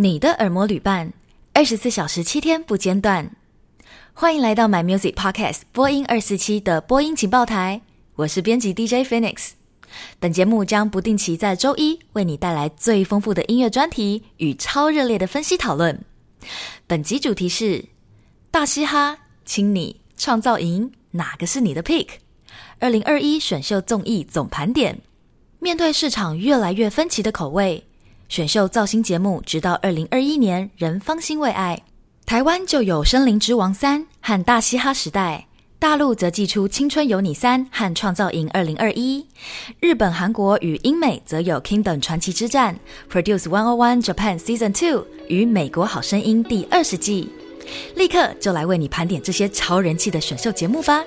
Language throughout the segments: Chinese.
你的耳膜旅伴，24小時7天不間斷。歡迎來到 My Music Podcast 播音247的播音情報台，我是編輯 DJ Phoenix。本節目將不定期在週一為你帶來最豐富的音樂專題與超熱烈的分析討論。本集主題是大嘻哈、青你、創造營，哪個是你的 pick？2021 選秀綜藝總盤點。面對市場越來越分歧的口味，選秀造星節目直到2021年仍方興未艾。台灣就有《聲林之王3》和《大嘻哈時代》，大陸則祭出《青春有你3》和《創造營2021》，日本、韓國與英美則有《Kingdom 傳奇之戰》、Produce 101 Japan Season 2與《美國好聲音》第20季。立刻就來為你盤點這些超人氣的選秀節目吧。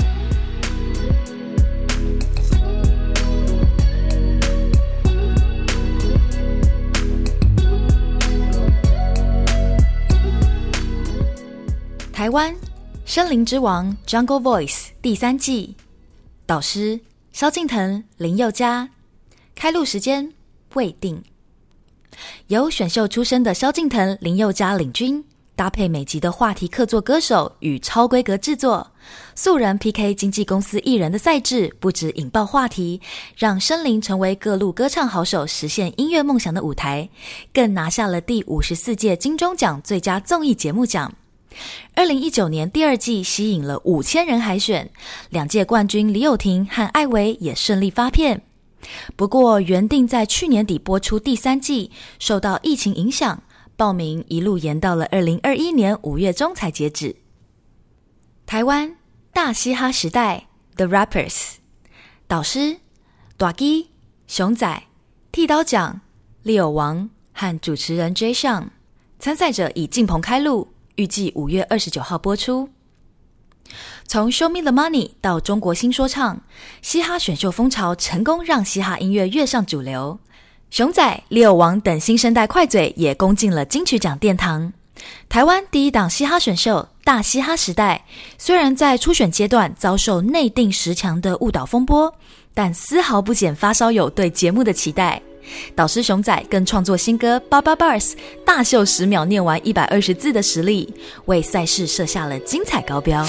台灣《聲林之王》Jungle Voice 第3季，導師蕭敬騰、林宥嘉，開錄時間未定。由選秀出身的蕭敬騰、林宥嘉領軍，搭配每集的話題客座歌手與超規格製作，素人 PK 經紀公司藝人的賽制，不止引爆話題，讓聲林成為各路歌唱好手實現音樂夢想的舞台，更拿下了第54屆金鐘獎最佳綜藝節目獎。2019年第2季吸引了5000人海選，2屆冠軍李友廷和艾薇也順利發片。不過原定在去年底播出第3季，受到疫情影響，報名一路延到了2021年5月中才截止。台灣大嘻哈時代 The Rappers， 導師大基、熊仔、剃刀獎、利友王和主持人 Jay Sean， 參賽者已進棚開錄，預計5月29號播出。從 Show Me the Money 到中國新說唱，嘻哈選秀風潮成功讓嘻哈音樂躍上主流。熊仔、利友王等新生代快嘴也攻進了金曲獎殿堂。台灣第一檔嘻哈選秀大嘻哈時代，雖然在初選階段遭受內定10強的誤導風波，但絲毫不減發燒友對節目的期待。導師熊仔更創作新歌88 Bars， 大秀10秒念完120字的實力，為賽事設下了精彩高標。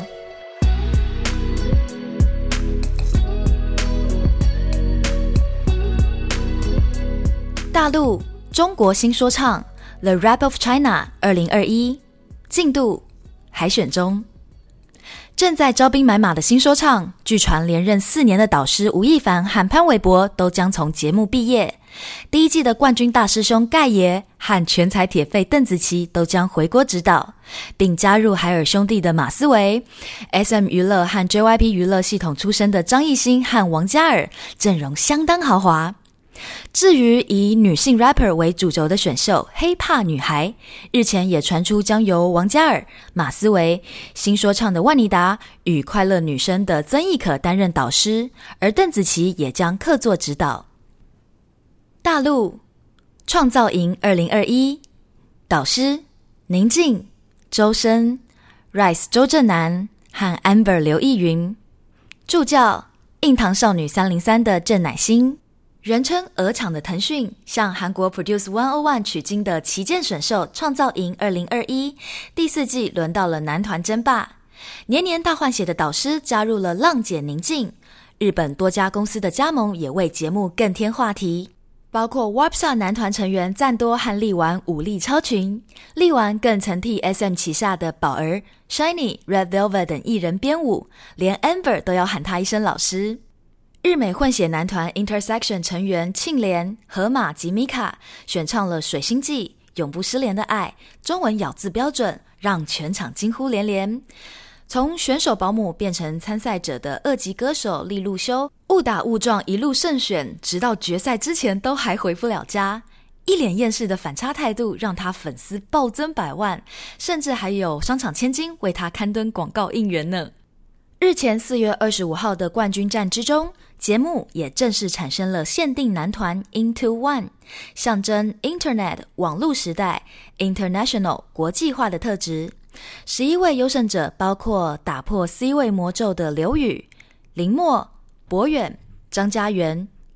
大陸中國新說唱 The Rap of China 2021， 進度海選中。正在招兵買馬的新說唱，據傳連任4年的導師吳亦凡和潘瑋柏都將從節目畢業。第1季的冠軍大師兄蓋爺和全才鐵肺鄧紫棋都將回國指導，並加入海爾兄弟的馬思唯、SM 娛樂和 JYP 娛樂系統出身的張藝興和王嘉爾，陣容相當豪華。至於以女性 rapper 為主軸的選秀黑怕女孩，日前也傳出將由王嘉爾、馬思唯、新說唱的萬妮達與快樂女聲的曾軼可擔任導師，而鄧紫棋也將客座指導。大陸創造營2021，導師寧靜、周深、Rice 周震南和 Amber 劉奕雲，助教硬糖少女303的鄭乃馨。人稱鵝廠的騰訊向韓國 Produce 101取經的旗艦選秀創造營2021第4季輪到了男團爭霸，年年大換血的導師加入了浪姐寧靜，日本多家公司的加盟也為節目更添話題，包括 Warpstar 男團成員贊多和力丸武力超群，力丸更曾替 SM 旗下的寶兒、Shiny、Red Velvet 等藝人編舞，連 Amber 都要喊他一聲老師。日美混血男團 Intersection 成員慶連、河馬及米卡選唱了《水星記》、永不失聯的愛，中文咬字標準，讓全場驚呼連連。從選手保姆變成參賽者的2級歌手利路修，誤打誤撞一路勝選，直到決賽之前都還回不了家，一臉厭世的反差態度讓他粉絲暴增100萬，甚至還有商場千金為他刊登廣告應援呢。日前4月25號的冠軍戰之中，節目也正式產生了限定男團 Into One， 象徵 Internet 網絡時代 International 國際化的特質。11位優勝者包括打破 C 位魔咒的劉宇、林默、博遠、張家元、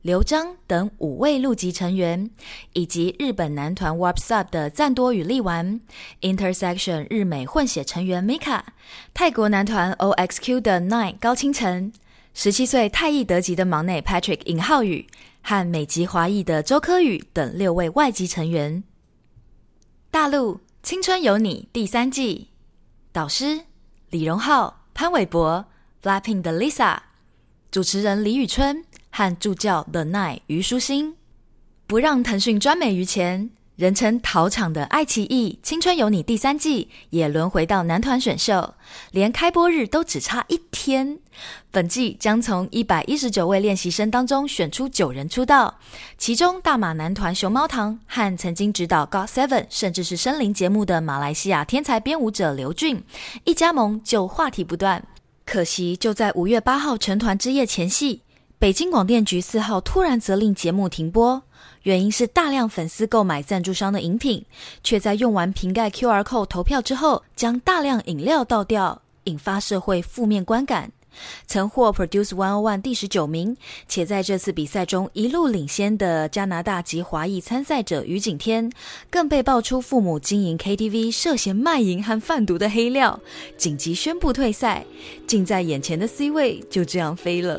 劉璋等5位陸籍成員，以及日本男團 Warp Sub 的贊多與力丸、Intersection 日美混血成員 Mika、泰國男團 OXQ 的 Nine 高清晨、17歲泰裔德籍的忙內 Patrick 尹浩宇和美籍華裔的周柯宇等6位外籍成員。大陸青春有你第3季，導師李榮浩、潘瑋柏、Blackpink 的 Lisa， 主持人李宇春和助教 The Nine 虞書欣。不讓騰訊專美於前，人稱桃場的愛奇藝青春有你第3季也輪回到男團選秀，連開播日都只差1天。本季將從119位練習生當中選出9人出道，其中大馬男團熊貓堂和曾經指導 GOT7 甚至是森林節目的馬來西亞天才編舞者劉俊，一加盟就話題不斷。可惜就在5月8號成團之夜前夕，北京廣電局4號突然責令節目停播，原因是大量粉絲購買贊助商的飲品，卻在用完瓶蓋 QR Code 投票之後，將大量飲料倒掉，引發社會負面觀感。曾獲 Produce 101第19名，且在這次比賽中一路領先的加拿大籍華裔參賽者余景天，更被爆出父母經營 KTV 涉嫌賣淫和販毒的黑料，緊急宣布退賽，近在眼前的 C 位就這樣飛了。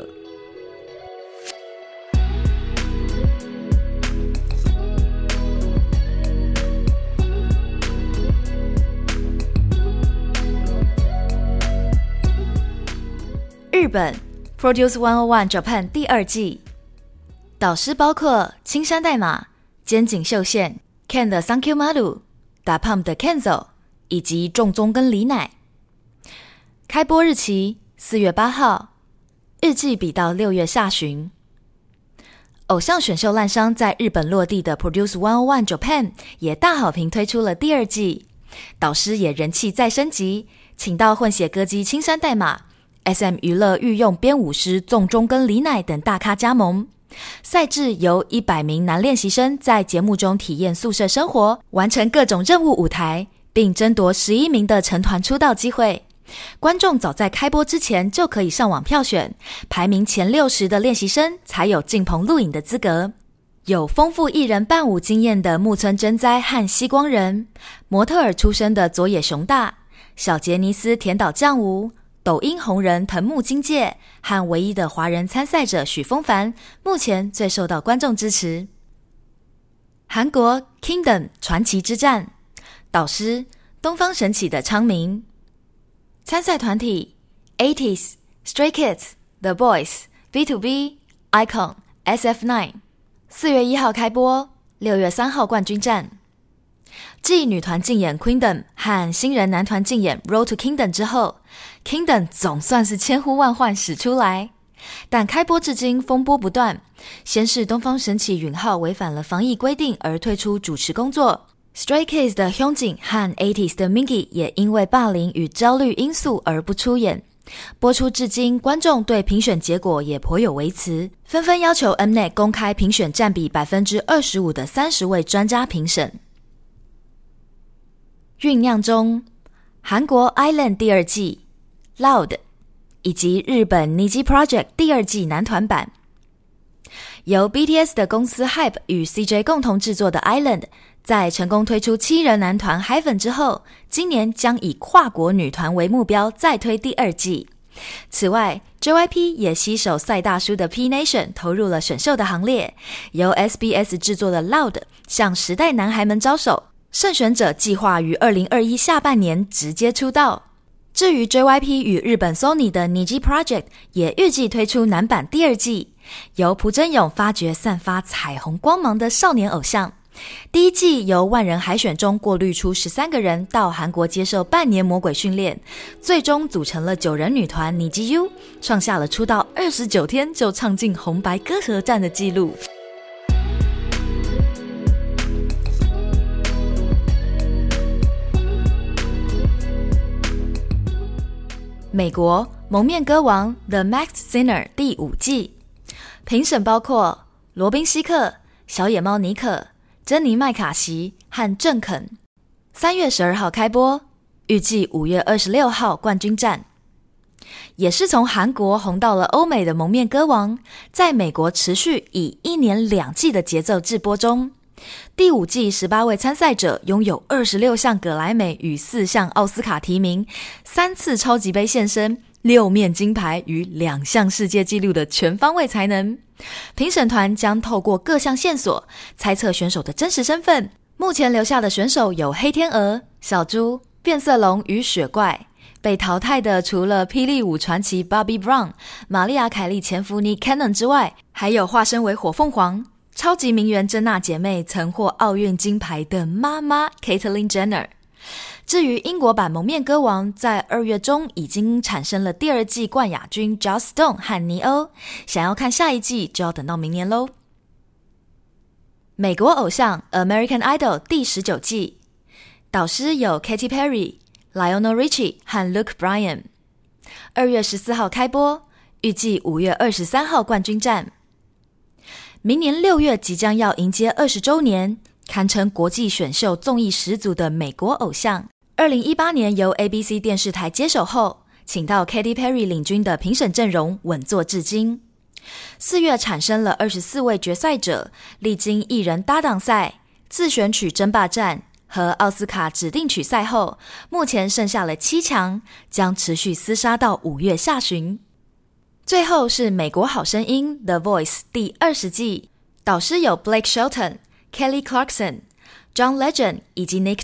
日本 Produce 101 Japan 第2季，導師包括青山代碼、肩井秀憲、Ken 的 Thank You Maru、DaPump 的 Kenzo 以及仲宗跟李乃。開播日期4月8號，日季比到6月下旬。偶像選秀爛商在日本落地的 Produce 101 Japan 也大好評推出了第2季，導師也人氣再升級，請到混血歌姬青山代碼、SM 娛樂御用編舞師仲宗跟李乃等大咖加盟。賽制由100名男練習生在節目中體驗宿舍生活，完成各種任務舞台，並爭奪11名的成團出道機會。觀眾早在開播之前就可以上網票選，排名前60的練習生才有進棚錄影的資格。有豐富藝人伴舞經驗的木村真哉和西光人，模特兒出身的佐野雄大，小傑尼斯田島將吾，抖音紅人藤木金介和唯一的華人參賽者許峰凡，目前最受到觀眾支持。韓國 Kingdom 傳奇之戰，導師東方神起的昌明。參賽團體 80s、Stray Kids、The Boys、BTOB、iKON、SF9。4月1號開播，6月3號冠軍戰。繼女團競演 Queendom 和新人男團競演 Road to Kingdom 之後， Kingdom 總算是千呼萬喚始出來，但開播至今風波不斷。先是東方神起允浩違反了防疫規定而退出主持工作， Stray Kids 的 Hyunjin 和 80s 的 Mingi 也因為霸凌與焦慮因素而不出演。播出至今，觀眾對評選結果也頗有微詞，紛紛要求 Mnet 公開評選佔比 25% 的30位專家評審。醞釀中，韓國 Island 第2季 Loud 以及日本 Niji Project 第2季男團版。由 BTS 的公司 HYBE 與 CJ 共同製作的 Island， 在成功推出7人男團 HYBE 之後，今年將以跨國女團為目標再推第2季。此外 JYP 也攜手賽大叔的 P Nation 投入了選秀的行列，由 SBS 製作的 Loud 向時代男孩們招手，勝選者計劃於2021下半年直接出道。至於 JYP 與日本 Sony 的 Niji Project 也預計推出男版第2季，由朴真勇發掘散發彩虹光芒的少年偶像。第1季由萬人海選中過濾出13個人到韓國接受半年魔鬼訓練，最終組成了9人女團 Niji U， 創下了出道29天就唱進紅白歌合戰的紀錄。美國蒙面歌王 The Masked Singer 第5季，評審包括羅賓希克、小野貓妮可、珍妮麥卡錫和鄭肯。3月12號開播，預計5月26號冠軍戰。 也是從韓國紅到了歐美的蒙面歌王，在美國持續以1年2季的節奏製播中。第5季18位參賽者擁有26項葛萊美與4項奧斯卡提名，3次超級盃現身，6面金牌與2項世界紀錄的全方位才能。評審團將透過各項線索猜測選手的真實身份。目前留下的選手有黑天鵝、小豬、變色龍與雪怪。被淘汰的除了霹靂舞傳奇 Bobby Brown、瑪麗亞·凱莉前夫 Nick Cannon 之外，還有化身為火鳳凰、超級名媛珍娜姐妹曾獲奧運金牌的媽媽 Caitlyn Jenner。至於英國版蒙面歌王，在2月中已經產生了第2季冠亞軍 Joss Stone 和尼歐，想要看下一季就要等到明年嘍。美國偶像 American Idol 第19季，導師有 Katy Perry、Lionel Richie 和 Luke Bryan。2月14號開播，預計5月23號冠軍戰。明年6月即將要迎接20週年，堪稱國際選秀綜藝始祖的美國偶像。2018年由 ABC 電視台接手後，請到 Katy Perry 領軍的評審陣容穩坐至今。4月產生了24位決賽者，歷經藝人搭檔賽、自選曲爭霸戰和奧斯卡指定曲賽後，目前剩下了7強，將持續廝殺到5月下旬。最後是美國好聲音 The Voice 第20季，導師有 Blake Shelton、Kelly Clarkson、John Legend 以及 Nick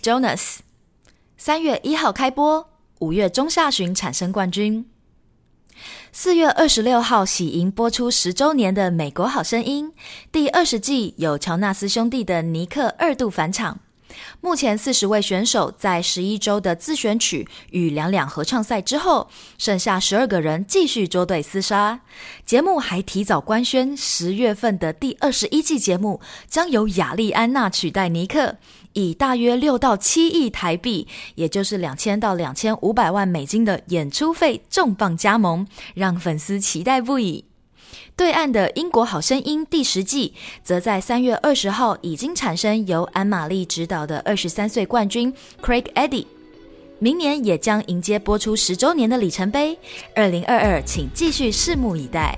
Jonas。3月1號開播，5月中下旬產生冠軍。4月26號喜迎播出10週年的美國好聲音第20季，有喬納斯兄弟的尼克2度返場。目前40位選手在11週的自選曲與兩合唱賽之後，剩下12個人繼續捉對廝殺。節目還提早官宣10月份的第21季節目將由亞莉安娜取代尼克，以大約6到7億台幣，也就是2000到2500萬美金的演出費重磅加盟，讓粉絲期待不已。對岸的英國好聲音第10季，則在3月20號已經產生由安瑪麗執導的23歲冠軍 Craig Eddy， 明年也將迎接播出10週年的里程碑，2022請繼續拭目以待。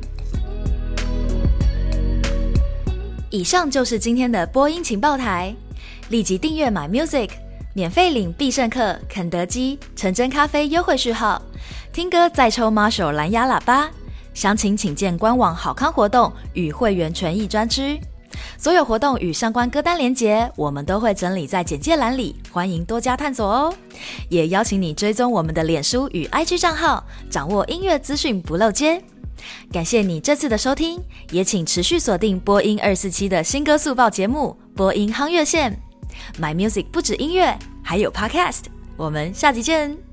以上就是今天的播音情報台，立即訂閱 My Music， 免費領必勝客、肯德基、橙真咖啡優惠序號，聽歌再抽 Marshall 藍牙喇叭。詳情請見官網好康活動與會員權益專區，所有活動與相關歌單連結我們都會整理在簡介欄裡，歡迎多加探索哦。也邀請你追蹤我們的臉書與 IG 賬號，掌握音樂資訊不漏接。感謝你這次的收聽，也請持續鎖定播音247的新歌速報節目播音夯樂線。My Music 不止音樂，還有 Podcast， 我們下集見。